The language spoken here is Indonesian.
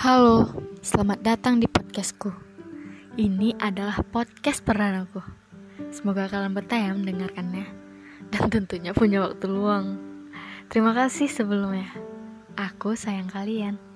Halo, selamat datang di podcastku. Ini adalah podcast perdanaku. Semoga kalian betah ya mendengarkannya dan tentunya punya waktu luang. Terima kasih sebelumnya. Aku sayang kalian.